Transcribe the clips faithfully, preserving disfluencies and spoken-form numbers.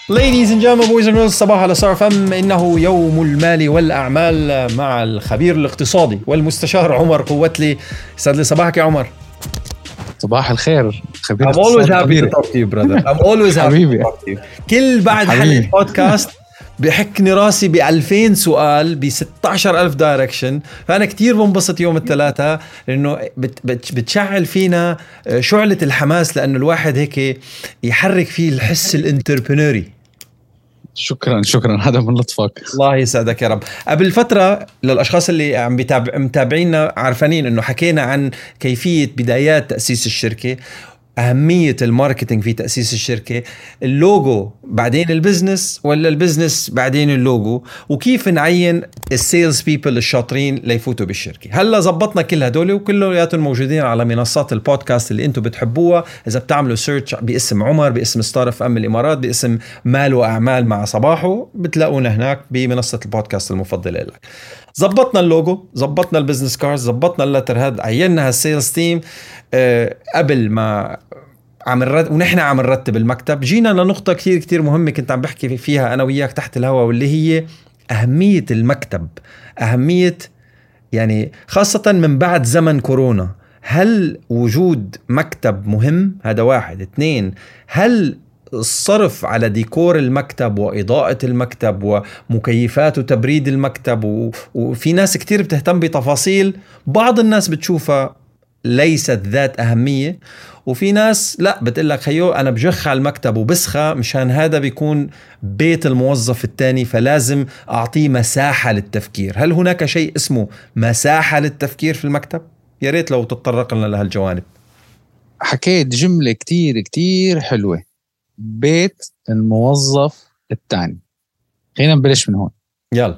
Ladies and gentlemen, boys and girls, صباح على صار فم. إنه يوم المال والأعمال مع الخبير الاقتصادي والمستشار عمر قوتلي. يسعد لي صباحك يا عمر. صباح الخير خبير. I'm always happy to talk to you brother. I'm always happy to talk to you. كل بعد حلقة بودكاست بحكني راسي بألفين سؤال بستة عشر ألف دايركشن. فأنا كتير بنبسط يوم الثلاثاء لأنه بت بتشعل فينا شعلة الحماس، لأنه الواحد هيك يحرك فيه الحس الانتربرنوري. شكرا شكرا هذا من لطفك. الله يسعدك يا رب. قبل فترة للأشخاص اللي عم بيتابع متابعينا عارفين إنه حكينا عن كيفية بدايات تأسيس الشركة، أهمية الماركتينج في تأسيس الشركة، اللوجو بعدين البزنس ولا البزنس بعدين اللوجو، وكيف نعين السيلز بيبل الشاطرين ليفوتوا بالشركة. هلا زبطنا كل هدول وكلياتهم موجودين على منصات البودكاست اللي انتم بتحبوها. إذا بتعملوا سيرش باسم عمر، باسم ستار اف ام الإمارات، باسم مال وأعمال مع صباحه، بتلاقونا هناك بمنصة البودكاست المفضلة لك. زبطنا اللوجو، زبطنا البزنس كارد، زبطنا اللتر هاد، عيننا هالسيلز تيم أه قبل ما عم نرتب، ونحن عم نرتب المكتب. جينا لنقطة كتير كتير مهمة كنت عم بحكي فيها أنا وياك تحت الهواء، واللي هي أهمية المكتب. أهمية يعني خاصة من بعد زمن كورونا. هل وجود مكتب مهم؟ هذا واحد. اثنين، هل الصرف على ديكور المكتب وإضاءة المكتب ومكيفات وتبريد المكتب و... وفي ناس كتير بتهتم بتفاصيل بعض الناس بتشوفها ليست ذات أهمية، وفي ناس لا بتقلك خيو أنا بجخ على المكتب وبسخة مشان هذا بيكون بيت الموظف التاني، فلازم أعطيه مساحة للتفكير. هل هناك شيء اسمه مساحة للتفكير في المكتب؟ يا ريت لو تتطرق لنا لهالجوانب. حكيت جملة كتير كتير حلوة، بيت الموظف التاني. خلينا نبلش من هون. يلا.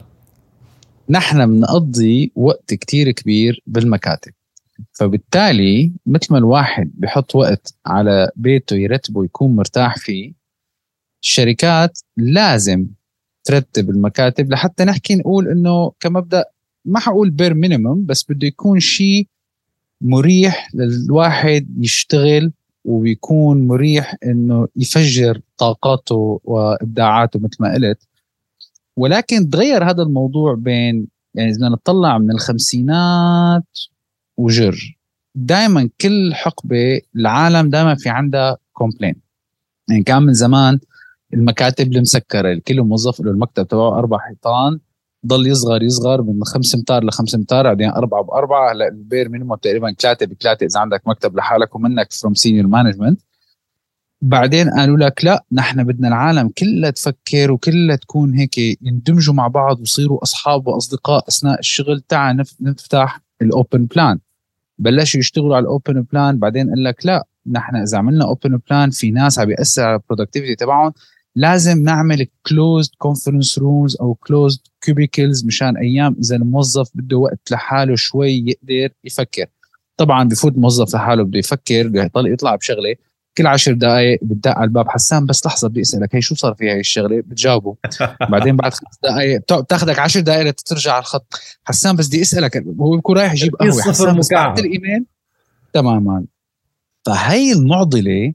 نحن بنقضي وقت كتير كبير بالمكاتب، فبالتالي مثل ما الواحد بيحط وقت على بيته يرتبه يكون مرتاح فيه، الشركات لازم ترتب المكاتب لحتى نحكي نقول انه كمبدأ ما حقول بير مينيمم، بس بده يكون شيء مريح للواحد يشتغل، وبيكون مريح انه يفجر طاقاته وابداعاته مثل ما قلت. ولكن تغير هذا الموضوع بين يعني إذا نطلع من الخمسينات وجر، دائما كل حقبة العالم دائما في عندها كومبلين. يعني كان من زمان المكاتب المسكرة، الكل موظف له المكتب تبعه أربع حيطان، ضل يصغر يصغر من خمس امتار لخمس امتار، بعدين أربعة بأربعة، هلا البير مينيموم تقريبا ثلاثة بثلاثة إذا عندك مكتب لحالك ومنك فروم سينيور مانجمنت. بعدين قالوا لك لا، نحن بدنا العالم كلها تفكر وكلها تكون هيك يندمجوا مع بعض ويصيروا أصحاب وأصدقاء أثناء الشغل. تعال نفتح الأوبن بلان. بلشوا يشتغلوا على الأوبن بلان، بعدين قال لك لا، نحن إذا عملنا أوبن بلان في ناس عم بيأثر على البرودكتيفيتي تبعهم، لازم نعمل closed conference rooms أو closed cubicles مشان أيام إذا الموظف بده وقت لحاله شوي يقدر يفكر. طبعا بفوت موظف لحاله بده يفكر، بده يطلع يطلع بشغلة كل عشر دقائق بتدق على الباب، حسان بس لحظة بدي أسألك هي شو صار فيها هاي الشغلة، بتجاوبه. بعدين بعد خمس دقائق بتاخدك عشر دقائق ترجع على الخط، حسان بس بدي أسألك، هو بيكون رايح يجيب قهوة، حسان بس بعت الإيميل تماما. فهي المعضلة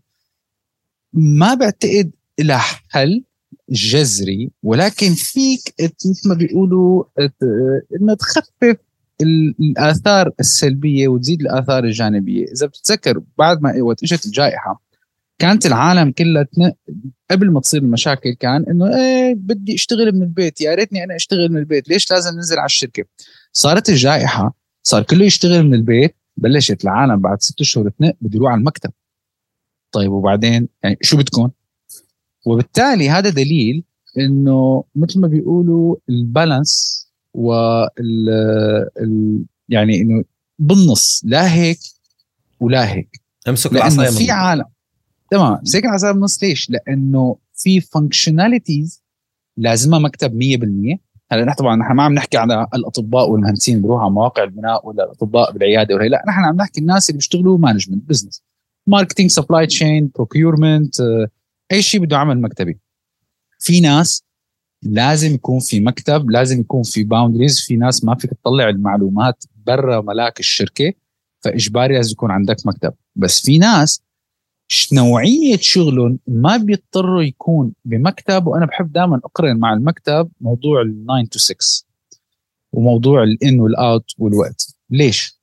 ما بعتقد لها حل جذري، ولكن فيك مثل ما بيقولوا إنه تخفف الآثار السلبية وتزيد الآثار الجانبية. إذا بتتذكر بعد ما وقت إجت الجائحة كانت العالم كلها قبل ما تصير المشاكل كان إنه إيه بدي أشتغل من البيت، يا ريتني أنا أشتغل من البيت، ليش لازم ننزل على الشركة؟ صارت الجائحة صار كله يشتغل من البيت، بلشت العالم بعد ست شهور تنق بده يروح على المكتب. طيب وبعدين يعني شو بتكون؟ وبالتالي هذا دليل إنه مثل ما بيقولوا البالانس وال ال يعني إنه بالنص، لا هيك ولا هيك. امسك العصاية في عالم تمام مسك العصاية بالنص. ليش؟ لأنه في فانكشناليتيز لازمها مكتب مية بالمية. هلا نحن طبعا نحن ما عم نحكي على الأطباء والمهندسين بيروحوا على مواقع البناء ولا الأطباء بالعيادة ولا لا، نحن عم نحكي الناس اللي بيشتغلوا مانجمنت بزنس، ماركتينج، سبلاي تشين، بروكيورمنت، أي شيء بده عمل مكتبي. في ناس لازم يكون في مكتب، لازم يكون في باوندريز، في ناس ما فيك تطلع المعلومات برا ملاك الشركة، فإجباري لازم يكون عندك مكتب. بس في ناس نوعية شغلهم ما بيضطروا يكون بمكتب. وأنا بحب دائما أقرن مع المكتب موضوع الناين تو سكس وموضوع الإن والأوت والوقت. ليش؟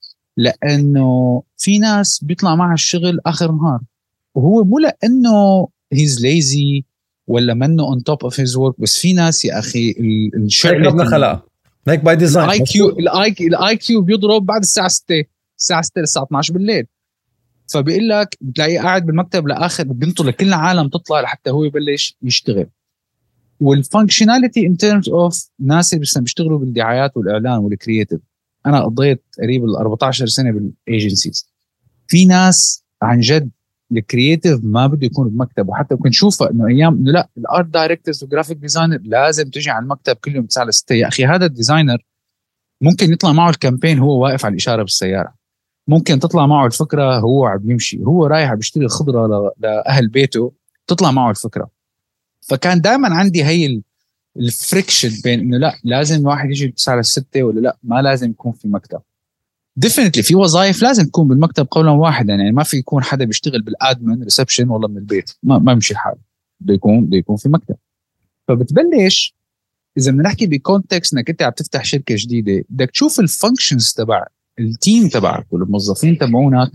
لأنه في ناس بيطلع معها الشغل آخر نهار، وهو مو لأنه he's lazy ولا منه on top of his work، بس في ناس يا أخي هيك ربنا خلقها، هيك باي ديزاين. الاي كيو الاي الاي كيو بيضرب بعد الساعه ستة، الساعه ستة للساعه اثناشر بالليل. فبيقول لك بتلاقيه قاعد بالمكتب لاخر، بينطر لكل العالم تطلع لحتى هو يبلش يشتغل. والفانكشناليتي ان تيرمز اوف ناس اللي بيشتغلوا بالدعايات والاعلان والكرييتيف. انا قضيت قريب ال أربعتاشر سنه بالايجنسيز. في ناس عن جد الكرييتيف ما بده يكون بمكتب، وحتى كنت شوفها انه ايام انه لا الارت دايركتورز والجرافيك ديزاينر لازم تجي على المكتب كل يوم تسعة لستة. يا اخي هذا الديزاينر ممكن يطلع معه الكامبين هو واقف على الاشاره بالسياره، ممكن تطلع معه الفكره هو عم يمشي، هو رايح بيشتري خضره لاهل بيته تطلع معه الفكره. فكان دائما عندي هي الفريكشن بين انه لا لازم الواحد يجي تسعة لستة ولا لا ما لازم يكون في مكتب. ديفينتلي في وظائف لازم تكون بالمكتب قولا واحدا، يعني ما في يكون حدا بيشتغل بالادمن ريسبشن والله من البيت، ما ما يمشي الحال، بده يكون بده يكون في مكتب. فبتبلش اذا بدنا نحكي بكونتكست انك انت عم تفتح شركه جديده، بدك تشوف الفانكشنز تبع التيم تبعك والموظفين تبعونك،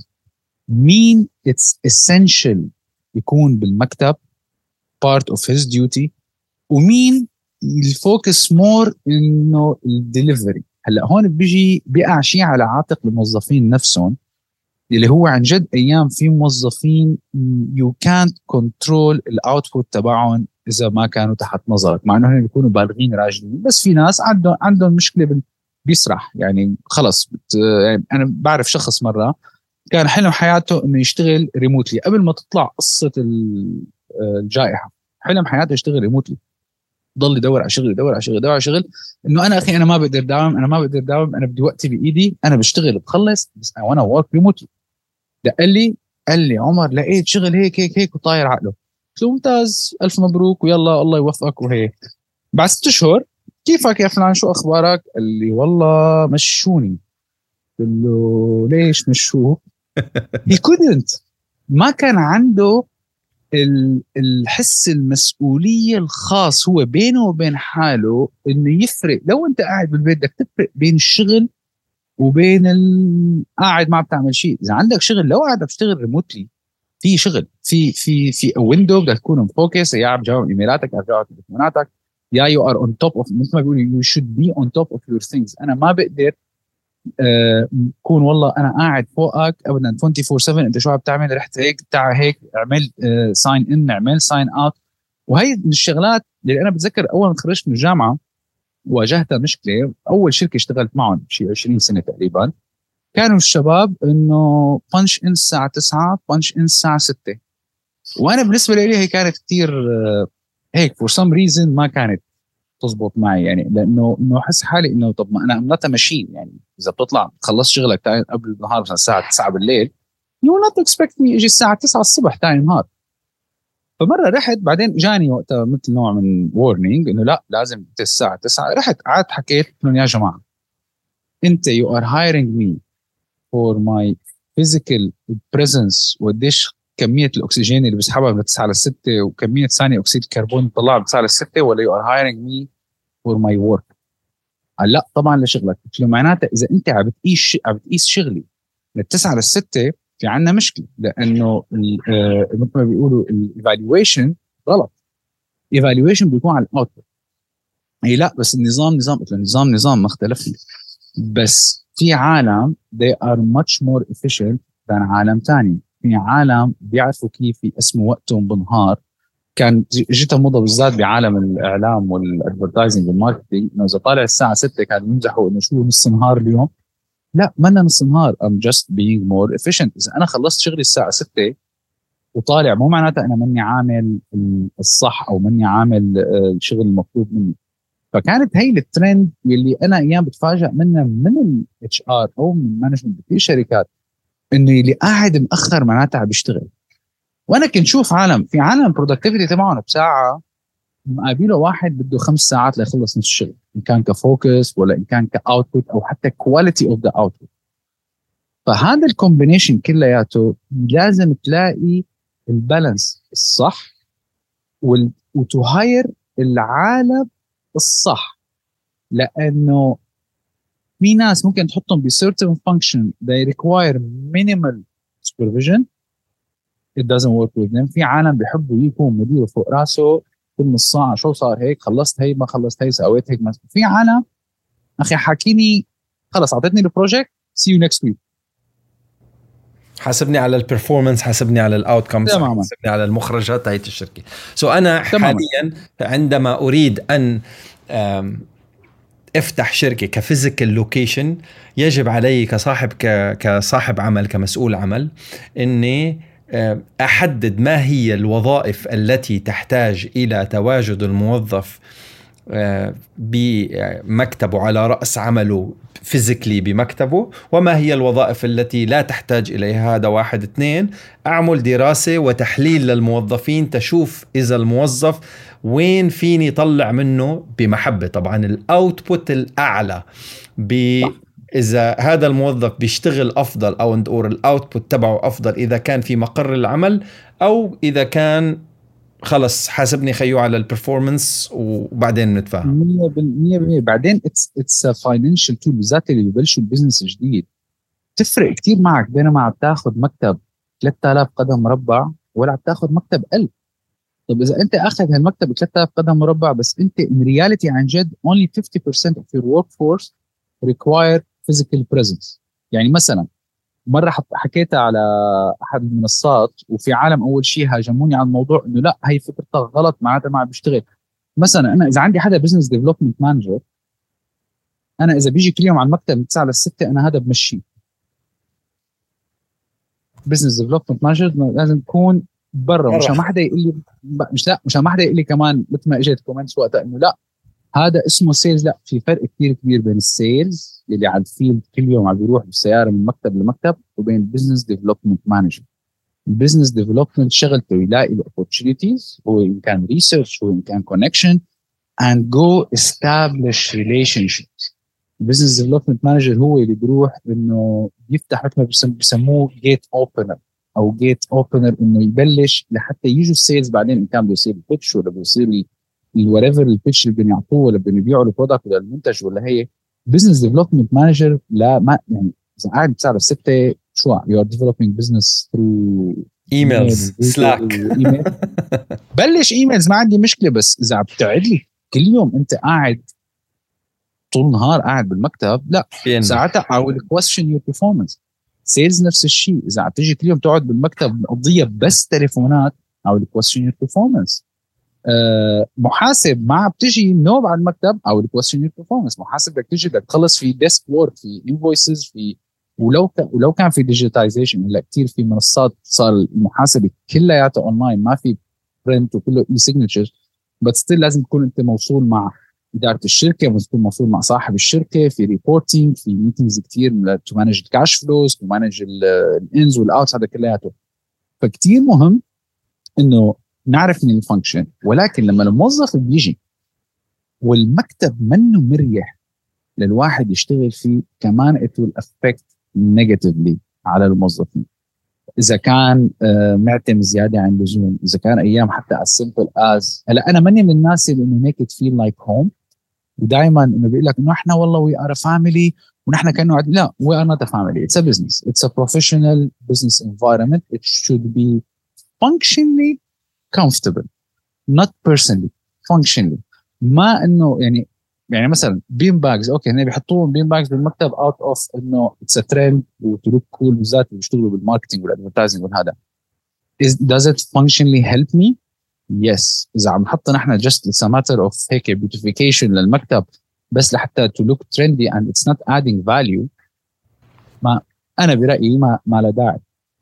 مين اتس اسينشال يكون بالمكتب part of his duty، ومين الفوكس مور انه الدليفري. هلا هون بيجي بيقع شيء على عاتق الموظفين نفسهم، اللي هو عن جد ايام في موظفين يو كانت كنترول الاوتبوت تبعهم اذا ما كانوا تحت نظرك، مع انه هن بيكونوا بالغين راجلين، بس في ناس عندهم عندهم مشكله بيسرح يعني خلص بت... يعني انا بعرف شخص مره كان حلم حياته انه يشتغل ريموتلي قبل ما تطلع قصه الجائحه، حلم حياته يشتغل ريموتلي، ضل يدور على شغل يدور على شغل يدور على شغل، انه انا اخي انا ما بقدر داوم انا ما بقدر داوم انا بدي وقتي بايدي، انا بشتغل بخلص بس وانا ورك ريموتلي. قال لي قال لي عمر لقيت شغل هيك هيك هيك وطاير عقله. قلت له ممتاز الف مبروك ويلا الله يوفقك. وهيك بعد ست شهور كيفك يا فلان شو اخبارك؟ قال لي والله مشوني. قلت له ليش مشوه؟ he couldn't ما كان عنده الحس المسؤولية الخاص هو بينه وبين حاله انه يفرق. لو انت قاعد بالبيت بدك تفرق بين الشغل وبين قاعد ما بتعمل شيء. اذا عندك شغل لو قاعد بتشتغل ريموتلي في شغل في في في ويندو بدك تكون مفوكس، يا عم جاوب ايميلاتك او جاوب تليفوناتك، يا يو ار اون توب اوف مثل ما بيقولوا يو شود بي اون توب اوف يور ثينجز. انا ما بقدر كون uh, والله انا قاعد فوقك ابدا أربعة وعشرين سبعة انت شو عم تعمل رحت هيك تعال هيك اعمل ساين ان اعمل ساين اوت. وهي من الشغلات اللي انا بتذكر اول ما تخرجت من الجامعه واجهتها مشكله. اول شركه اشتغلت معهم شيء عشرين سنه تقريبا كانوا الشباب انه بانش ان الساعه تسعة بانش ان الساعه ستة، وانا بالنسبه لي هي كانت كثير uh, هيك فور سم ريزن ما كانت تزبط معي، يعني لانه انه احس حالي انه طب ما انا امنتها ماشين، يعني اذا بتطلع تخلص شغلك تاني قبل النهار مثلا الساعه تسعة بالليل يو نوت اكسبكت مي اجي الساعه تسعة الصبح ثاني نهار. فمره رحت بعدين جاني وقتها مثل نوع من وورنينج انه لا لازم الساعه تسعة. رحت قعدت حكيت لهم يا جماعه انت يو ار هايرنج مي فور ماي فيزيكال بريزنس وقديش كميه الاكسجين اللي بسحبها من تسعة ل ستة وكميه ثاني اكسيد الكربون اللي بطلعها من تسعة ل ستة، ولا يو ار هايرنج مي فور ماي ورك؟ قال لا طبعا لشغلك. قلت له معناته اذا انت عم بتقيس عم بتقيس شغلي من تسعة ل ستة في عندنا مشكله، لانه مثل ما بيقولوا الايفالويشن غلط. ايفالويشن بيكون على الاوتبوت. هي لا بس النظام نظام. قلت له النظام نظام ما اختلفنا، بس في عالم they are much more efficient than عالم تاني. في عالم بيعرفوا كيف يقسموا وقتهم بالنهار. كان جيتها موضه بالذات بعالم الاعلام والادفرتايزنج والماركتينج انه اذا طالع الساعه ستة كانوا يمزحوا انه شو نص نهار اليوم. لا ما نص نهار I'm just being more efficient. اذا انا خلصت شغلي الساعه ستة وطالع مو معناته انا مني عامل الصح او مني عامل الشغل المطلوب مني. فكانت هي الترند اللي انا ايام بتفاجئ منها من الاتش ار او من المانجمنت في شركات انه اللي قاعد مأخر معناته عم بيشتغل. وانا كنت شوف عالم في عالم برودكتيفيتي تبعهم بساعه مقابله واحد بده خمس ساعات ليخلص نص الشغل، ان كان كفوكس ولا ان كان كاوتبوت او حتى كواليتي اوف ذا اوتبوت. فهذا الكومبينيشن كلياته لازم تلاقي البالانس الصح وتهاير العالم الصح، لانه في ناس ممكن تحطهم ب certain function they require minimal supervision it doesn't work with them. في عالم بيحبوا يكون مديره فوق راسه كل نص ساعه شو صار هيك، خلصت هي ما خلصت هي، سويت هيك. في عالم اخي حاكيني خلص اعطيتني البروجكت see you next week، حاسبني على البرفورمانس، حاسبني على الاوتكمز، حاسبني على المخرجات تاعت الشركه. سو so انا تماما. حاليا عندما اريد ان افتح شركه كفيزيكال لوكيشن يجب علي كصاحب كصاحب عمل كمسؤول عمل اني احدد ما هي الوظائف التي تحتاج الى تواجد الموظف بمكتبه على رأس عمله فيزيكلي بمكتبه، وما هي الوظائف التي لا تحتاج إليها. هذا واحد. اثنين، أعمل دراسة وتحليل للموظفين تشوف إذا الموظف وين فيني طلع منه بمحبة، طبعا الأوتبوت الأعلى، إذا هذا الموظف بيشتغل أفضل أو ندور الأوتبوت تبعه أفضل إذا كان في مقر العمل، أو إذا كان خلص حاسبني خيو على البرفورمانس وبعدين نتفاهم. مية بالمية. بعدين اتس اتس فاينانشال تول، بالذات اللي ببلشوا البزنس جديد تفرق كتير معك بينما عم تاخذ مكتب ثلاثة آلاف قدم مربع ولا عم تاخذ مكتب ألف. طب اذا انت اخذ هالمكتب ثلاثة آلاف قدم مربع بس انت in reality عن جد only fifty percent of your workforce require physical presence. يعني مثلا مرة حكيتها على أحد المنصات وفي عالم أول شيء هاجموني على الموضوع إنه لا هي فكرتها غلط معناتها ما عم بيشتغل. مثلا أنا إذا عندي حدا business development manager، أنا إذا بيجي كل يوم على المكتب من تسعة لستة أنا هذا بمشي. business development manager لازم تكون برا، مش ما حدا يقول لي مش لا مش ما حدا يقول لي كمان مثل ما اجت كومنتس وقتها إنه لا هذا اسمه سيلز. لا، في فرق كتير كبير بين السيلز اللي على الفيلد كل يوم عم بيروح بالسيارة من مكتب لمكتب وبين البزنس ديفلوبمنت مانجر. البزنس ديفلوبمنت شغلته يلاقي الاوبورتونيتيز، هو إن كان ريسيرش، هو إن كان كونكشن and go establish relationships. البزنس ديفلوبمنت مانجر هو اللي بيروح انه يفتح مثل ما بيسموه جيت اوبنر او جيت اوبنر، انه يبلش لحتى يجوا السيلز بعدين ان كان بيصير بيتش ولا بيصير الوريفر البيتش اللي بيعطوه ولا بيبيعوا البرودكت ولا المنتج ولا هي. بزنس ديفلوبمنت مانجر لا ما يعني اذا قاعد بتساعد ستة شو يو ار ديفلوبينج بزنس ثرو ايميلز سلاك بلش ايميلز ما عندي مشكله، بس اذا عم بتقعد لي كل يوم انت قاعد طول النهار قاعد بالمكتب لا ساعتها I will question your performance. سيلز نفس الشيء، اذا عم تيجي كل يوم تقعد بالمكتب مقضيه بس تليفونات I will question your performance. أه محاسب ما بتجي نوب على المكتب او الكويستشن بيرفورمانس. محاسب بدك تجي بدك تخلص في ديسك وورك، في انفويسز، في ولو ك... ولو كان في ديجيتايزيشن هلا كثير في منصات صار المحاسبه كلياتها اونلاين ما في برنت وكله اي سيجنتشر، بس ستيل لازم تكون انت موصول مع اداره الشركه، لازم تكون موصول مع صاحب الشركه في ريبورتينج، في ميتينجز كثير تو مانج الكاش فلوز، تو مانج الانز والاوتس، هذا كلياته. فكتير مهم انه نعرف من الفانكشن. ولكن لما الموظف بيجي والمكتب منه مريح للواحد يشتغل فيه كمان it will affect negatively على الموظفين. إذا كان معتم زيادة عن اللزوم، إذا كان أيام حتى as simple as هلا أنا ماني من الناس اللي إنه make it feel like home، ودائما إنه بيقول لك إنه إحنا والله we are a family ونحن كأنه عد... لا we are not a family, it's a business, it's a professional business environment, it should be functionally comfortable not personally functionally. ما انه يعني يعني مثلا بين باجز اوكي هنا بيحطوهم بين باجز بالمكتب اوت اوف انه اتس ا ترند وتلوك كول، بالذات اللي بيشتغلوا بالماركتينج والادفرتايزنج وهذا. does it functionally help me? yes. اذا عم نحط نحن just it's a matter of هيك beautification للمكتب بس لحتى to look trendy and it's not adding value، ما انا برايي ما ما له داعي.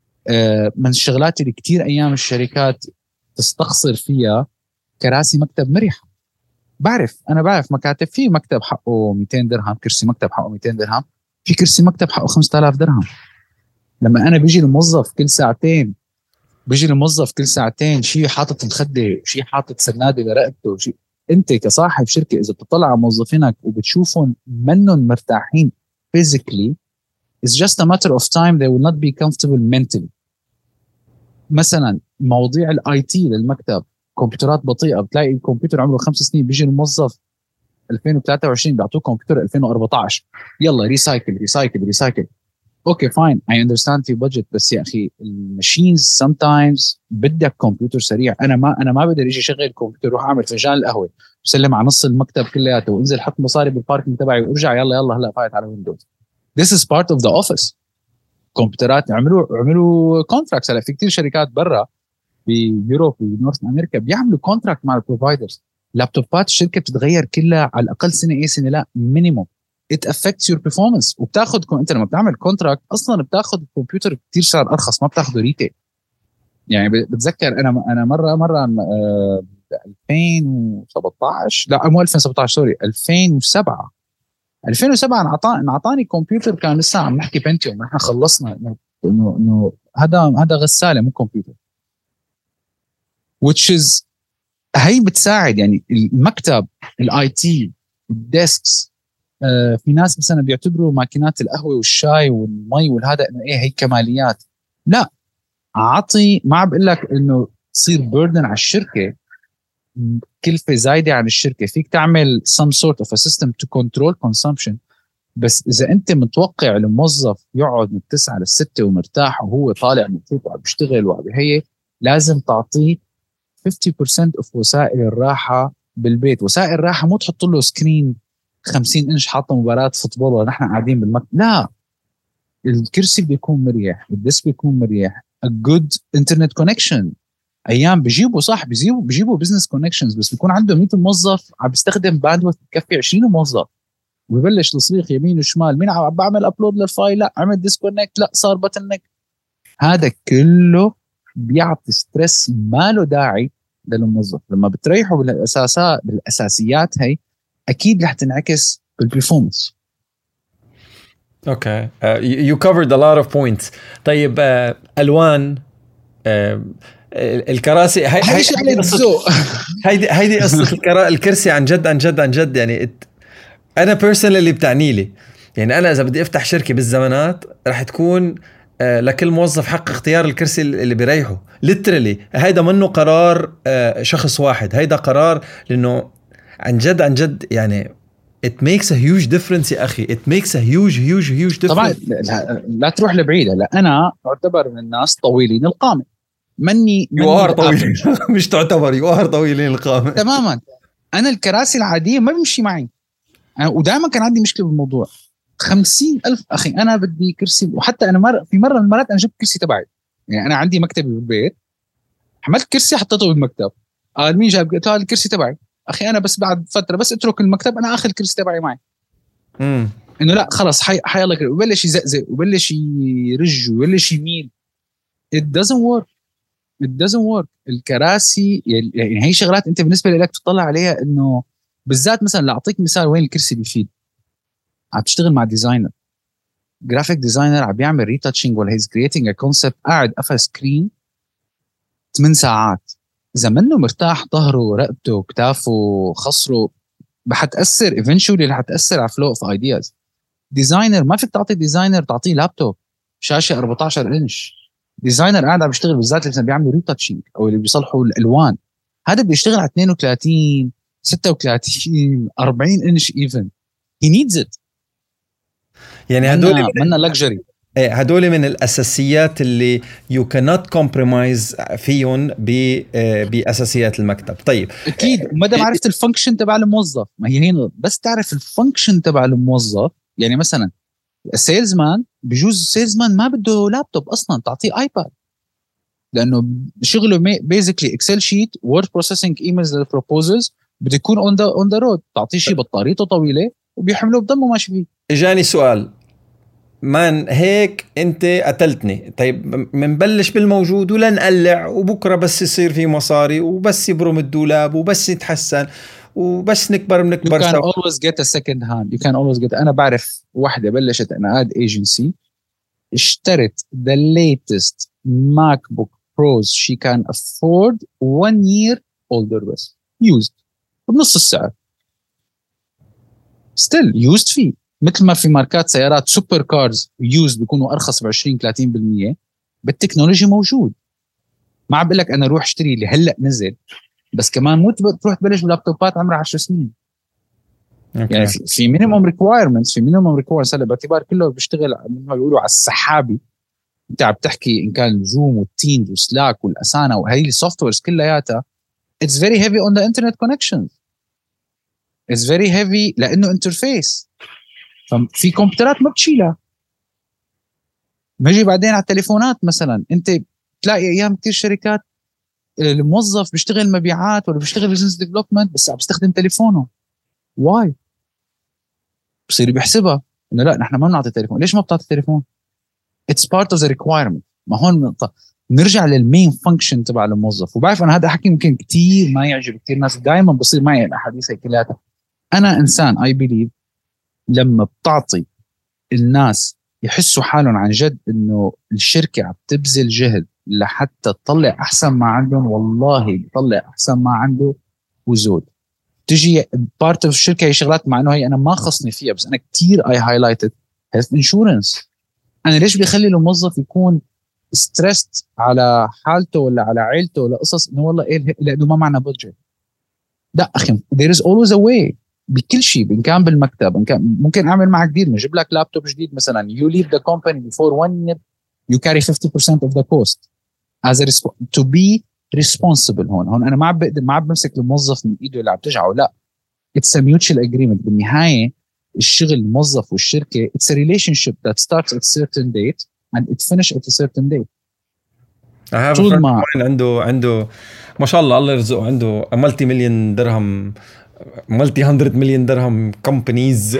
آه من الشغلات اللي كتير ايام الشركات تستخسر فيها كراسي مكتب مريحة. بعرف أنا بعرف مكاتب في مكتب حقه مئتين درهم، كرسي مكتب حقه مئتين درهم، في كرسي مكتب حقه خمسة آلاف درهم. لما أنا بيجي الموظف كل ساعتين بيجي الموظف كل ساعتين شيء حاطط مخدة، شيء حاطط سنادة لرقبته، شيء. أنت كصاحب شركة إذا بتطلع على موظفينك وبتشوفهم منهم مرتاحين physically it's just a matter of time they will not be comfortable mentally. مثلا مواضيع الاي تي للمكتب، كمبيوترات بطيئه، بتلاقي الكمبيوتر عمره خمس سنين بيجي الموظف ألفين وثلاثة وعشرين بيعطوه كمبيوتر ألفين وأربعتاشر، يلا ريسايكل ريسايكل ريسايكل. اوكي فاين اي اندرستاند في بادجت، بس يا اخي الماشينز سم تايمز بدك كمبيوتر سريع. انا ما انا ما بقدر اجي شغل الكمبيوتر روح اعمل فنجان القهوه وسلم على نص المكتب كلياته وانزل حط مصاري بالباركنج تبعي وارجع يلا يلا هلا فايت على ويندوز. This is part of the office. كمبيوترات عملوا عملوا كونتراكتس. هلا في كثير شركات برا بيوروب ونورث امريكا بيعملوا كونتراكت مع البروفايدرز. لابتوبات الشركه بتتغير كلها على الاقل سنه ايه سنه لا مينيموم. it affects your performance. وبتاخذ انت لما بتعمل كونتراكت اصلا بتاخذ الكمبيوتر كثير سعر ارخص، ما بتاخذه ريتيل. يعني بتذكر انا انا مره مره آه ألفين وسبعطعش لا مو ألفين وسبعطعش سوري ألفين وسبعة ألفين وسبعة انعطاني انعطاني كمبيوتر كان لسه عم نحكي بنتيوم، نحن خلصنا انه انه هذا هذا غساله مو كمبيوتر. which is هي بتساعد يعني المكتب الاي تي الديسكس. آه في ناس مثلا بيعتبروا ماكينات القهوه والشاي والمي والهذا انه ايه هي كماليات. لا اعطي، ما بقول لك انه تصير بيردن على الشركه كلفه زايده عن الشركه. فيك تعمل some sort of a system to control consumption، بس اذا انت متوقع الموظف يقعد من تسعة للستة ومرتاح وهو طالع مبسوط وعم بيشتغل وعم هي لازم تعطيه خمسين بالمية of وسائل الراحه بالبيت. وسائل الراحه مو تحط له سكرين خمسين انش حاطه مباراه فوتبول ونحن قاعدين بالمكتب، لا الكرسي بيكون مريح، الديسك بيكون مريح، a good internet connection. ايام بيجيبوا صح بيجيبوا بيجيبوا بزنس كونكشنز بس بيكون عنده مية موظف عم بيستخدم باندويث تكفي عشرين موظف ويبلش تصريخ يمين وشمال، مين عم بعمل ابلود للفايل، لا عمل ديسكونكت، لا صار بتنك. هذا كله بيعطي ستريس ما له داعي للموظف. لما بتريحوا بالاساسات بالاساسيات هي اكيد رح تنعكس بالبرفورمانس. اوكي يو كفرد ا لوت اوف بوينتس. طيب uh, الوان uh, الكراسي هاي هاي هيدي هيدي قصه الكرا... الكرسي عن جد عن جد عن جد يعني ات... انا بيرسونال اللي بتعني لي. يعني انا اذا بدي افتح شركه بالزمانات رح تكون آه لكل موظف حق اختيار الكرسي اللي بيريحه. ليترلي هيدا منه قرار آه شخص واحد، هيدا قرار لانه عن جد عن جد يعني it makes a huge difference يا اخي. it makes a huge huge huge difference. طبعا لا, لا تروح لبعيد. لا انا اعتبر من الناس طويلين القامه، مني يوار طويل مش تعتبر يوار طويلين القامه تماما. انا الكراسي العاديه ما بيمشي معي، ودائما كان عندي مشكله بالموضوع. خمسين ألف أخي أنا بدي كرسي. وحتى أنا مر في مرة من المرات أنا جبت كرسي تبعي، يعني أنا عندي مكتبي بالبيت، حملت كرسي حطيته بالمكتب. قال مين جاب؟ قلت له هذا الكرسي تبعي. أخي أنا بس بعد فترة بس أترك المكتب أنا أخذ الكرسي تبعي معي. امم إنه لا خلاص حي حي الله كرسي. وبلش يزقزق وبلش يرج وبلش يميل. it doesn't work it doesn't work. الكراسي يعني هي شغلات أنت بالنسبة لك تطلع عليها إنه بالذات مثلا لأعطيك مثال وين الكرسي بيفيد. عم تشتغل مع ديزاينر جرافيك ديزاينر عم بيعمل ريتاتشنج ولا هيز كرييتنج ا كونسبت، قاعد قفل سكرين ثمان ساعات. اذا منه مرتاح ظهره رقبته كتافه خصره حتاثر ايفينشولي رح تاثر على فلو اوف ايدياز. ديزاينر ما فيك تعطي ديزاينر تعطيه لابتوب شاشه أربعتاشر انش. ديزاينر قاعد عم بيشتغل بالذات اللي بيعملوا ريتاتشنج او اللي بيصلحوا الالوان، هذا بيشتغل على اثنين وثلاثين ستة وثلاثين أربعين انش ايفن. he needs it. يعني هدول منا لكجري. هدول من الاساسيات اللي يو كانوت كومبرومايز فيهم باساسيات المكتب. طيب اكيد ما دام عرفت الفانكشن تبع الموظف، ما هي هنا بس تعرف الفانكشن تبع الموظف. يعني مثلا السيلز مان بجوز السيلز مان ما بده لابتوب اصلا، تعطيه ايباد لانه شغله بيزيكلي اكسل شيت وورد بروسيسنج ايميلز للبروبوزلز، بده يكون اون ذا اون ذا رود. تعطيه شيء بطاريته طويله وبيحمله بضمه ماشي فيه. اجاني سؤال مان هيك انت قتلتني. طيب منبلش بالموجود ولا نقلع وبكره بس يصير في مصاري وبس يبرم الدولاب وبس يتحسن وبس نكبر بنكبر. You can always get a second hand. You can always get. أنا بعرف واحدة بلشت أنا ad agency اشترت the latest MacBook Pros she can afford one year older bus used بنص السعر still used فيه. مثل ما في ماركات سيارات سوبر كارز يوز بيكونوا أرخص بعشرين ثلاثين بالمية، بالتكنولوجي موجود. ما عم بقول لك انا روح اشتري اللي هلا نزل، بس كمان مو تروح تبلش بلابتوبات عمرها عشر سنين. أوكي. يعني في, في مينيموم ريكوايرمنتس في مينيموم ريكوايرمنتس هلا باعتبار كله بيشتغل مثل ما بيقولوا على السحابي. انت عم تحكي ان كان زوم والتيمز وسلاك والاسانا وهي السوفت ويرز كلياتها it's very heavy on the internet connections. it's very heavy لانه انترفيس. ففي كمبيوترات ما بتشيلها. نجي بعدين على التليفونات مثلا، انت تلاقي ايام كثير شركات الموظف بيشتغل مبيعات ولا بيشتغل بزنس ديفلوبمنت بس عم بيستخدم تليفونه. واي؟ بصير بيحسبها انه لا نحن ما بنعطي تليفون. ليش ما بتعطي تليفون؟ it's part of the requirement. ما هون نقطة. نرجع للمين فانكشن تبع الموظف. وبعرف انا هذا حكي ممكن كتير ما يعجب كتير ناس، دائما بصير معي الاحاديث هي كلها. انا انسان اي بليف لما بتعطي الناس يحسوا حالهم عن جد انه الشركة عم تبذل جهد لحتى تطلع احسن ما عندهم، والله بتطلع احسن ما عنده وزود. تجي بارت اوف الشركة هي شغلات مع انه هي انا ما خصني فيها، بس انا كتير اي هايلايتد هيلث انشورنس. انا ليش بخلي الموظف يكون ستريسد على حالته ولا على عيلته ولا قصص انه والله ايه لانه ما معنا بادجت؟ لا اخي there is always a way بكل شيء. ان كان بالمكتب، ان كان ممكن اعمل معك ديل، نجيب لك لابتوب جديد مثلا. you leave the company before one year you carry fifty percent of the cost as a resp- to be responsible. هون هون انا ما عم بقدر ما عم بمسك الموظف من ايده اللي عم تجعه، لا it's a mutual agreement. بالنهايه الشغل الموظف والشركه it's a relationship that starts at a certain date and it finishes at a certain date. I have a طول friend of ما mine عنده عنده ما شاء الله الله يرزقه، عنده ملتي مليون درهم ملتي هندرد مليون درهم كومبانيز،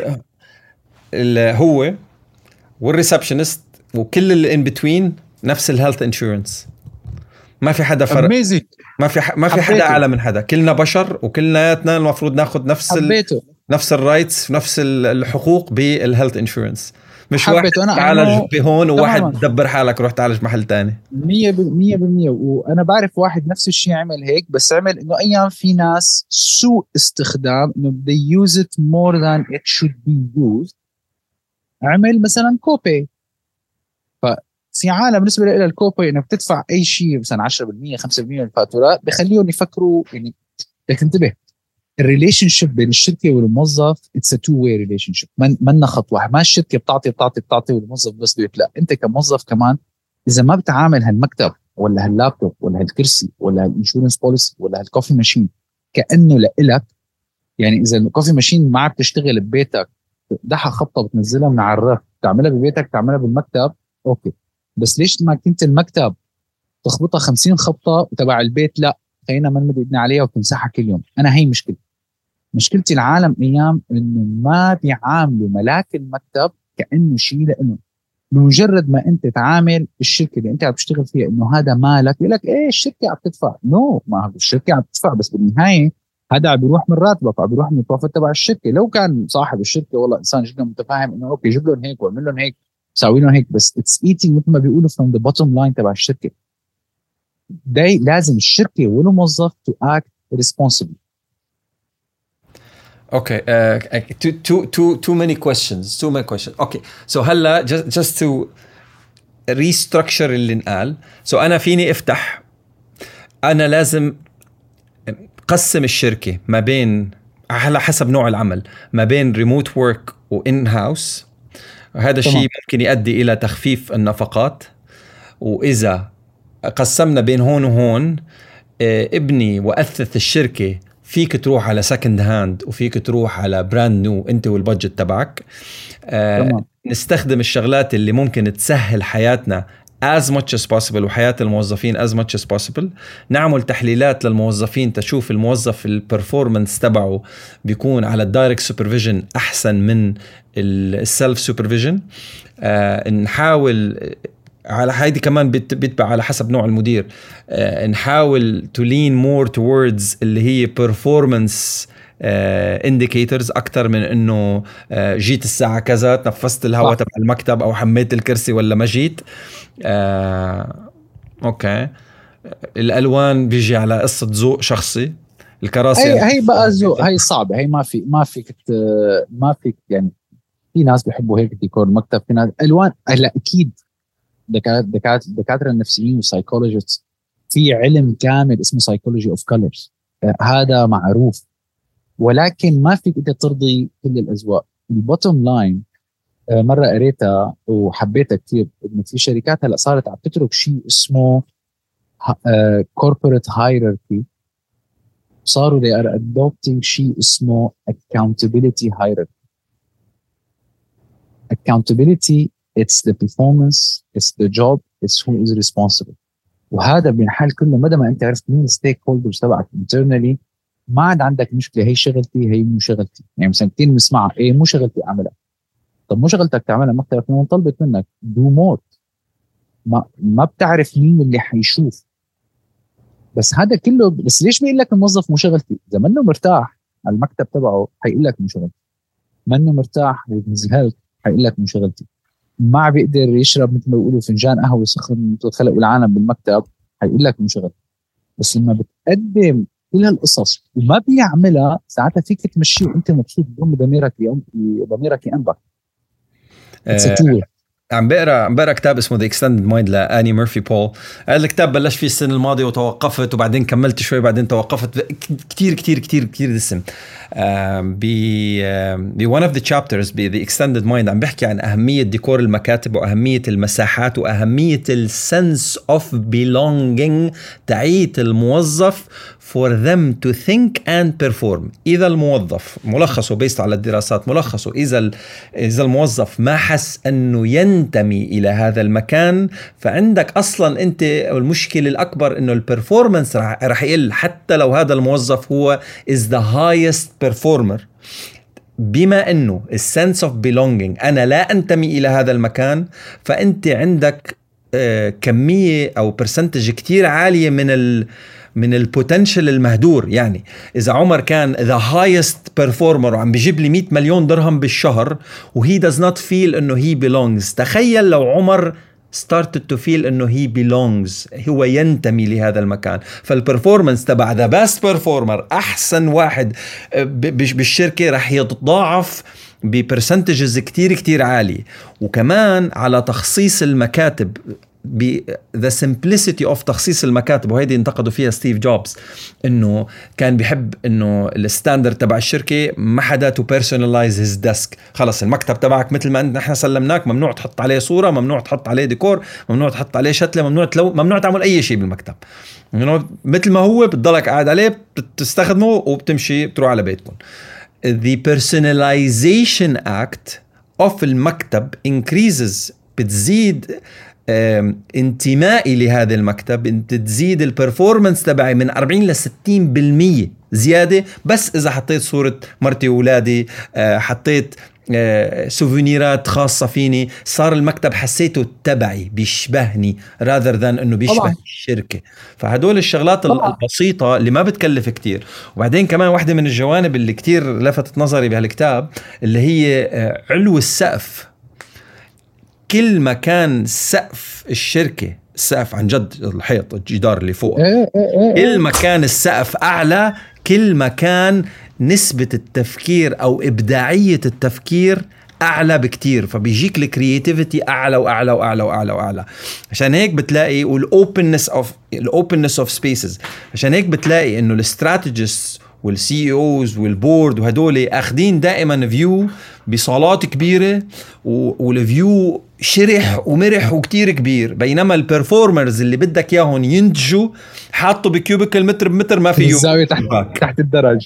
هو والريسبشنست وكل اللي ان بتوين نفس الهيلث انشورنس. ما في حدا فرق. amazing. ما في ح... ما في حدا اعلى من حدا. كلنا بشر وكلنااتنا المفروض ناخذ نفس ال... نفس الرايتس نفس الحقوق بالهيلث انشورنس. مش واحد تعالج بهون وواحد دبر حالك روح تعالج محل تاني. مية بالمية بالمية. وأنا بعرف واحد نفس الشيء عمل هيك، بس عمل إنه أيام في ناس سوء استخدام إنه they use it more than it should be used. عمل مثلا كوبي. ففي عالم بالنسبة إلى الكوبي إنك بتدفع أي شيء مثلا عشرة بالمية خمسة بالمية من الفاتورات بخليهم يفكروا يعني. لكن انتبه، الريليشن شيب بين الشركه والموظف اتس ا تو واي ريليشن شيب. ما خط واحد. ما الشركه بتعطي بتعطي بتعطي والموظف بس بيت. لا، انت كموظف كمان اذا ما بتعامل هالمكتب ولا هاللابتوب ولا هالكرسي ولا هالانشورنس بوليسي ولا هالكوفي ماشين كانه لإلك. يعني اذا الكوفي ماشين ما عم تشتغل ببيتك دحها خبطه بتنزلها من على الرف، تعملها ببيتك تعملها بالمكتب اوكي، بس ليش ما كنت المكتب تخبطها خمسين خبطه وتبع البيت لا خلينا ما نمد ايدنا عليها وتمسحها كل يوم؟ انا هي مشكلتي. مشكلتي العالم ايام انه ما بيعاملوا ملاك المكتب كانه شيء لانه بمجرد ما انت تعامل الشركه اللي انت عم تشتغل فيها انه هذا مالك، يقول لك ايه الشركه عم تدفع. نو no. ما الشركه عم تدفع، بس بالنهايه هذا عم بيروح من راتبك وعم بيروح من البروفيت تبع الشركه. لو كان صاحب الشركه والله انسان جدا متفاهم انه اوكي جيب لهم هيك واعمل لهم هيك ساوي لهم هيك، بس اتس ايتينج مثل ما بيقولوا from the bottom line تبع الشركه. داي لازم الشركه والموظف to act responsibly. Okay, uh, too too too too many questions. Too many questions. Okay, so هلا just just to restructure اللي انقال. So أنا فيني افتح، أنا لازم قسم الشركة ما بين على حسب نوع العمل ما بين remote work و in house. هذا الشيء ممكن يؤدي إلى تخفيف النفقات. وإذا قسمنا بين هون وهون ابني وأثث الشركة، فيك تروح على سكند هاند وفيك تروح على براند نيو انت والبادجت تبعك. آه نستخدم الشغلات اللي ممكن تسهل حياتنا as much as possible وحياة الموظفين as much as possible. نعمل تحليلات للموظفين تشوف الموظف البرفورمانس تبعه بيكون على الدايركت سوبرفيجن أحسن من السلف سوبرفيجن. آه نحاول على هيدي كمان بيتبع على حسب نوع المدير. آه نحاول to lean more towards اللي هي performance آه indicators أكتر من إنه آه جيت الساعة كذا تنفست الهواء تبع المكتب أو حميت الكرسي ولا ما جيت. آه أوكي، الألوان بيجي على قصة ذوق شخصي. الكراسي هي هي بقى ذوق، هي صعبة، هي ما في ما فيك ما فيك يعني. في ناس بيحبوا هيك ديكور المكتب، في ناس ألوان. هلا أكيد دكاترة دكاترة النفسيين والسايكولوجيست في علم كامل اسمه psychology of colors، آه، هذا معروف، ولكن ما فيك انت ترضي كل الاذواق. البوتوم لاين مره قريتها وحبيتها كثير، انه في شركات هلا صارت عم تترك شيء اسمه corporate hierarchy، صاروا they are adopting شيء اسمه accountability hierarchy. accountability it's the performance, it's the job, it's who is responsible. وهذا بينحل كله مدى ما انت عرفت مين الستيك هولدرز تبعك internally. ما عاد عندك مشكله هي شغلتي هي مو شغلتي. يعني مثلا كثير بنسمعها ايه مو شغلتي اعملها. طب مو شغلتك تعملها، مكتبك لما طلبت منك دو مور. ما ما بتعرف مين اللي حيشوف. بس هذا كله، بس ليش بيقول لك الموظف مو شغلتي؟ اذا منه مرتاح على المكتب تبعه حيقول لك مو شغلتي. منه مرتاح ومزهق حيقول لك مو شغلتي. ما بيقدر يشرب مثل ما بيقولوا فنجان قهوه سخن مثل خلق العالم بالمكتب حيقول لك مو شغلتي. بس لما بتقدم كل هالقصص وما بيعملها، ساعتها فيك تمشيه وانت مبسوط بدون ضميرك ضميرك ينبك. آه عم بقرا عم بقرا كتاب اسمه The Extended Mind لآني مورفي بول. هذا الكتاب بلش فيه السنة الماضية وتوقفت، وبعدين كملت شوي بعدين توقفت. كتير كتير كتير كتير دسم. ب ب one of the chapters ب The Extended Mind عم بحكي عن أهمية ديكور المكاتب وأهمية المساحات وأهمية ال sense of belonging تعيت الموظف for them to think and perform. إذا الموظف ملخصه بيست على الدراسات ملخصه إذا إذا الموظف ما حس أنه ينتمي إلى هذا المكان، فعندك أصلا أنت المشكلة الأكبر أنه البرفورمانس رح يقل، حتى لو هذا الموظف هو is the highest performer. بما أنه الsense of belonging أنا لا أنتمي إلى هذا المكان، فأنت عندك آه كمية أو percentage كتير عالية من ال من البوتنشل المهدور. يعني إذا عمر كان the highest performer وعم بيجيب لي مئة مليون درهم بالشهر و he does not feel إنه he belongs، تخيل لو عمر started to feel إنه he belongs، هو ينتمي لهذا المكان. فالperformance تبع the best performer أحسن واحد بالشركة رح يتضاعف ببرسنتجز كتير كتير عالي. وكمان على تخصيص المكاتب، ب the simplicity of تخصيص المكاتب، وهيدي انتقدوا فيها ستيف جوبز انه كان بيحب انه الستاندرد تبع الشركه ما حدا تو personalize his desk. خلص المكتب تبعك مثل ما نحن سلمناك، ممنوع تحط عليه صوره، ممنوع تحط عليه ديكور، ممنوع تحط عليه شتله، ممنوع تلو... ممنوع تعمل اي شيء بالمكتب. يعني مثل ما هو بتضلك قاعد عليه بتستخدمه وبتمشي بتروح على بيتكم. the personalization act of المكتب increases، بتزيد انتمائي لهذا المكتب، انت تزيد البرفورمانس تبعي من أربعين إلى ستين بالمية زيادة. بس إذا حطيت صورة مرتي وولادي، حطيت سوفينيرات خاصة فيني، صار المكتب حسيته تبعي بيشبهني rather than انه بيشبه طبعا الشركة. فهدول الشغلات طبعا البسيطة اللي ما بتكلف كتير. وبعدين كمان واحدة من الجوانب اللي كتير لفتت نظري بهالكتاب اللي هي علو السقف. كل ما كان سقف الشركة، السقف عن جد الحيط الجدار اللي فوق، كل ما كان السقف أعلى كل ما كان نسبة التفكير أو إبداعية التفكير أعلى بكتير، فبيجيك الكرياتيفيتي أعلى وأعلى وأعلى وأعلى وأعلى. عشان هيك بتلاقي والأوبنس أوف الأوبنس أوف سبيسز، عشان هيك بتلاقي إنه الاستراتيجيست والسي اوز والبورد وهدول اخذين دائما فيو بصالات كبيره والفيو شرح ومرح وكتير كبير، بينما البرفورمرز اللي بدك اياهم ينتجوا حاطوا بكيوبيكل متر بمتر ما فيه الزاويه تحت تحت الدرج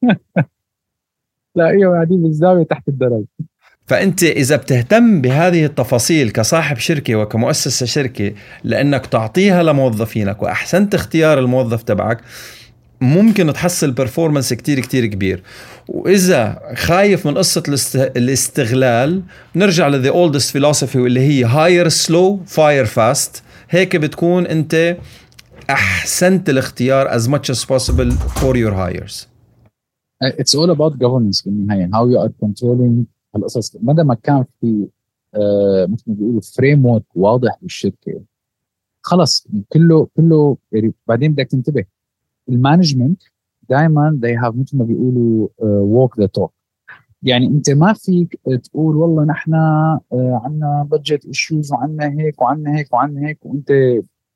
لا ايوه قاعدين بالزاويه تحت الدرج. فأنت إذا بتهتم بهذه التفاصيل كصاحب شركة وكمؤسسة شركة لأنك تعطيها لموظفينك وأحسنت اختيار الموظف تبعك، ممكن تحصل برفورمانس كتير كتير كبير. وإذا خايف من قصة الاستغلال، نرجع ل the oldest philosophy واللي هي hire slow fire fast. هيك بتكون أنت أحسنت الاختيار as much as possible for your hires. It's all about governance بالنهاية. how you are controlling القصص. مدى ما كان في آه مثل ما بيقولوا framework واضح بالشركة، خلص كله كله. بعدين بدك تنتبه المانجمنت دائما they have مثل ما بيقولوا uh, walk the talk. يعني انت ما فيك تقول والله نحن uh, عنا budget issues وعنا هيك وعنا هيك وعنا هيك وانت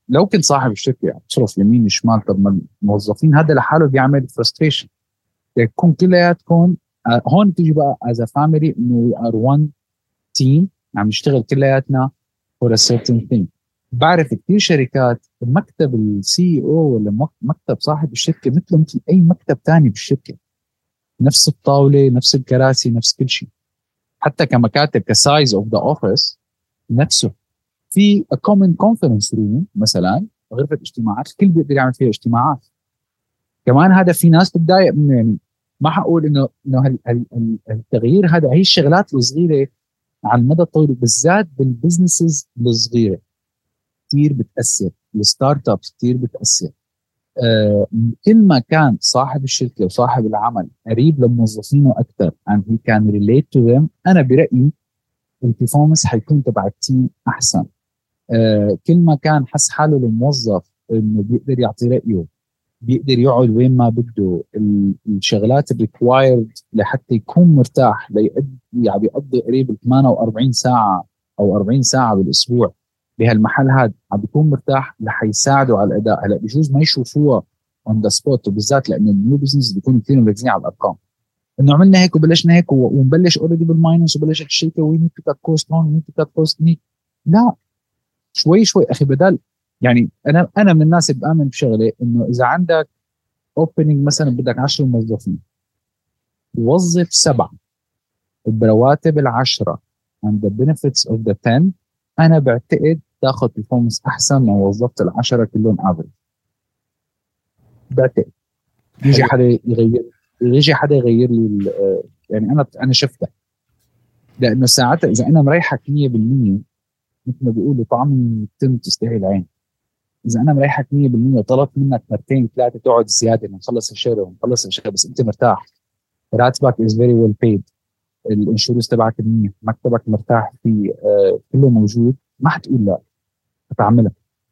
لو كنت صاحب الشركه يعني تصرف يمين شمال، طب ما الموظفين هذا لحاله بيعمل فرستريشن. يكون كلياتكم هون تيجي بقى از فاميلي انه وي ار وان تيم عم نشتغل كلياتنا فور ا سيرتن ثينج. بعرف كثير شركات مكتب السي او ولا مكتب صاحب الشركه مثله مثل اي مكتب ثاني بالشركه، نفس الطاوله نفس الكراسي نفس كل شيء، حتى كمكاتب كسايز اوف ذا اوفيس نفسه. في a common conference room مثلا غرفه اجتماعات الكل بيقدر يعمل فيها اجتماعات. كمان هذا في ناس بتضايق منه، يعني ما حقول انه انه التغيير هذا هي الشغلات الصغيره على المدى الطويل بالذات بالبزنسز الصغيره كثير بتاثر، الستارت ابس كثير بتاثر. آه كل ما كان صاحب الشركه وصاحب العمل قريب لموظفينه اكثر and he can relate to them، انا برايي البرفورمانس حيكون تبع التيم احسن. آه كل ما كان حس حاله الموظف انه بيقدر يعطي رايه، بيقدر يقعد وين ما بده، الشغلات الريكوايرد لحتى يكون مرتاح ليقضي يعني بيقضي قريب ثمانية وأربعين ساعه او أربعين ساعه بالاسبوع بهالمحل هذا عم بيكون مرتاح لحيساعده على الاداء. هلا بجوز ما يشوفوها اون ذا سبوت، وبالذات لانه النيو بزنس بيكونوا كثير مركزين على الارقام، انه عملنا هيك وبلشنا هيك ونبلش اوريدي بالماينس وبلشت الشركه وي نيد تو كات كوست هون نيد تو كات كوست. لا شوي شوي اخي، بدل يعني انا انا من الناس اللي بامن بشغله انه اذا عندك اوبننج مثلا بدك عشرة موظفين، وظف سبعه برواتب العشره and the benefits of the ten، انا بعتقد تاخذ performance احسن من وظفت العشره كلهم افريج. بعتقد يجي حدا يغير يجي حدا يغير لي يعني انا انا شفتها، لانه ساعتها اذا انا مريحك مية بالمية مثل ما بيقولوا طعم تم تستاهل العين، اذا انا مريحك مية بالمية وطلبت منك مرتين ثلاثه تقعد زياده ونخلص الشهر ونخلص الشهر بس انت مرتاح، راتبك از فيري ويل بيد، الانشورنس تبعك منيح، مكتبك مرتاح فيه، آه كله موجود، ما حتقول لا، هتعملها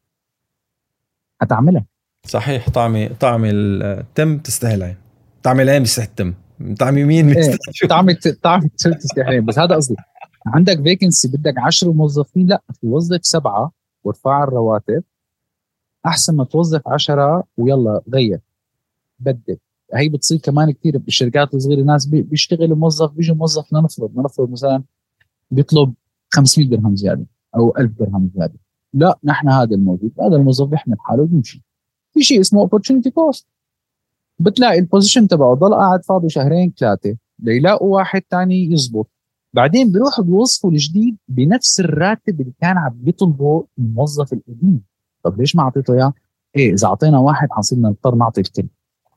هتعملها صحيح. طعمي طعمي التم تستاهل عين، طعمي العين بيستاهل التم، طعمي مين بيستاهل ايه. طعمي طعمي تستاهل عين. بس هذا قصدي عندك فيكنسي بدك عشرة موظفين، لا توظف سبعه وارفع الرواتب احسن ما توظف عشرة ويلا غير بدل. هي بتصير كمان كثير بالشركات الصغيره، ناس بيشتغل موظف بيجي موظف لنفرض لنفرض مثلا بيطلب خمسمية درهم زياده او ألف درهم زياده، لا نحن هذا الموجود هذا الموظف يحمل حاله ويمشي. في شيء اسمه opportunity cost، بتلاقي البوزيشن تبعه ضل قاعد فاضي شهرين ثلاثه ليلاقوا واحد تاني يزبط، بعدين بيروحوا بيوظفوا الجديد بنفس الراتب اللي كان عم بيطلبه الموظف القديم. طب ليش ما اعطيته اياه؟ ايه اذا اعطينا واحد حنصير نضطر نعطي الكل.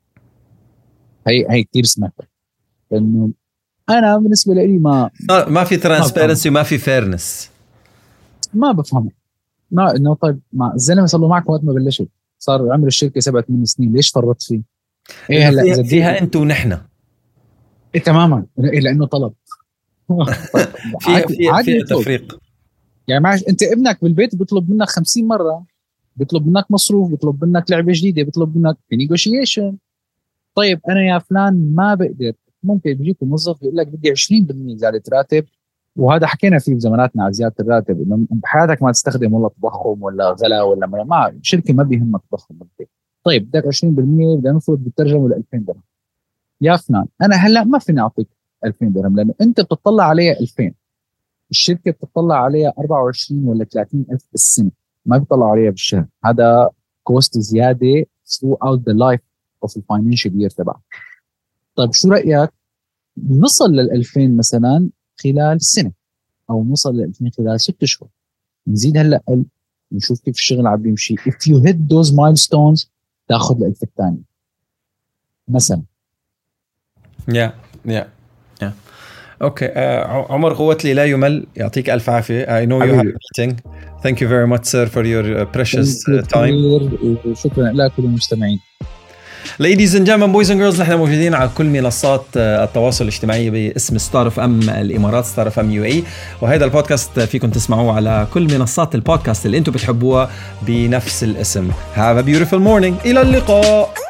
هي هي كثير سمعتها، لانه انا بالنسبه لي ما ما في ترانسبيرنسي وما في فيرنس، ما بفهم ما انه طيب ما الزلمه صار له معك وقت ما بلشت، صار عمر الشركه سبعة ثمان سنين، ليش فرطت فيه؟ ايه هلا فيها, فيها انت ونحن إيه تماما إيه لانه طلب فيها فيها, فيها تفريق. يعني معش انت ابنك بالبيت بيطلب منك خمسين مره، بيطلب منك مصروف، بيطلب منك لعبه جديده، بيطلب منك نيغوشيشن. طيب انا يا فلان ما بقدر، ممكن بيجيك موظف بيقول لك بدي عشرين بالمية زياده راتب، وهذا حكينا فيه بزماناتنا على زياده الراتب، انه بحياتك ما تستخدم ولا تضخم ولا غلا ولا ما, ما الشركه ما بيهمك تضخم بالبيت. طيب بدك عشرين بالمية بدنا نفرض بالترجمه ل ألفين درهم. يا فلان انا هلا ما فيني اعطيك ألفين درهم لانه انت بتطلع عليها ألفين، الشركه بتطلع عليها أربعة وعشرين ولا ثلاثين ألف بالسنه، ما بيطلع عليها بالشهر. هذا كوست زياده throughout the life of the financial year تبعك. طيب شو رايك نصل لل ألفين مثلا خلال سنه، او نوصل لل ألفين خلال ست شهور، نزيد هلا نشوف كيف الشغل عم بيمشي. if you hit those milestones تاخذ الألف الثاني مثلا. يا يا يا اوكي. عمر قوتلي لا يمل، يعطيك الف عافيه. I know you have a meeting. Thank you very much sir for your precious time. شكرا لك وللمستمعين. Ladies and gentlemen, boys and girls، نحن موجودين على كل منصات التواصل الاجتماعي باسم ستار اف ام الامارات، ستار اف ام يو اي، وهذا البودكاست فيكم تسمعوه على كل منصات البودكاست اللي انتم بتحبوها بنفس الاسم. Have a beautiful morning. الى اللقاء.